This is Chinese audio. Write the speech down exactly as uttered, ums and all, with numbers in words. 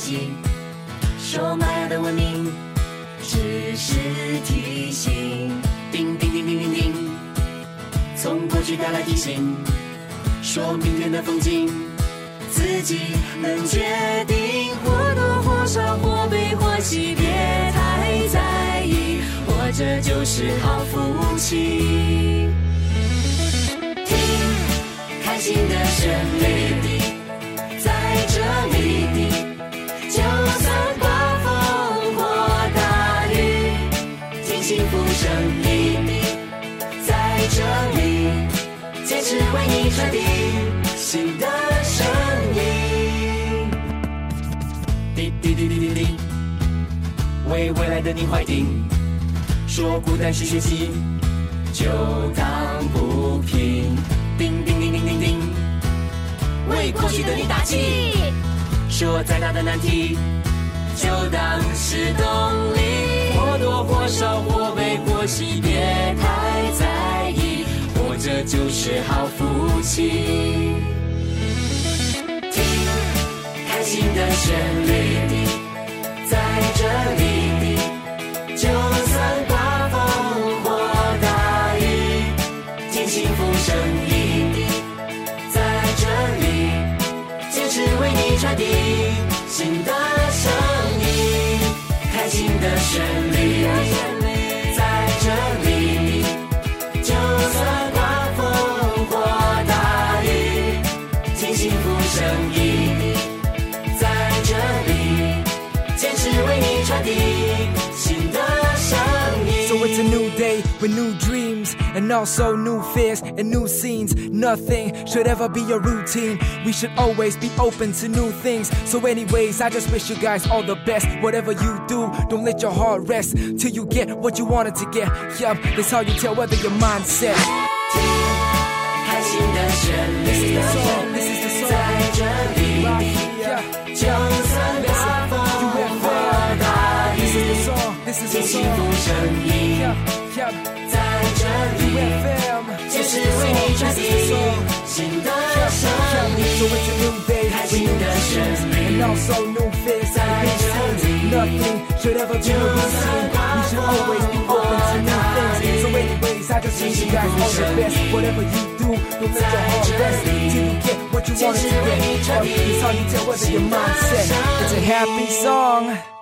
击，说玛雅的文明只是提醒。叮叮叮叮叮叮，从过去带来提醒，说明天的风景自己能决定，或多或少，或悲或喜，别太在意，活着就是好福气。听开心的旋律，在这里，就算刮风或大雨，听幸福声音，在这里坚持为你传递新的声音。滴滴滴滴滴滴，为未来的你怀定，说孤单是学习，就当不平。叮叮叮叮叮叮，为过去的你打气，说再大的难题就当是动力，或多或少，或悲或喜，别太在意，活着就是好福气。听开心的旋律，在这里，就算刮风或大雨，听幸福声音，在这里坚持为你传递新的声音。开心的旋律，在这里，就算刮风或大雨，听幸福声音，在这里坚持为你传递新的声音。 So it's a new day with new dreams and also new fears and new scenes. Nothing should ever be a routine. We should always be open to new things. So anyways, I just wish you guys all the best. Whatever you do, don't let your heart rest till you get what you wanted to get. Yup, that's how you tell whether your mindset. 听开心的旋律，在这里，就算刮风或大雨，听幸福声音，在这里坚持为你传递新的声音。开心的旋律，在这里， Nothing should ever be a routine. We should always be open to new things. So anyways, I just wish you guys all the best. Whatever you do, don't let your heart rest till you get what you wanted to get. It's how you tell whether your mindset. It's a happy song.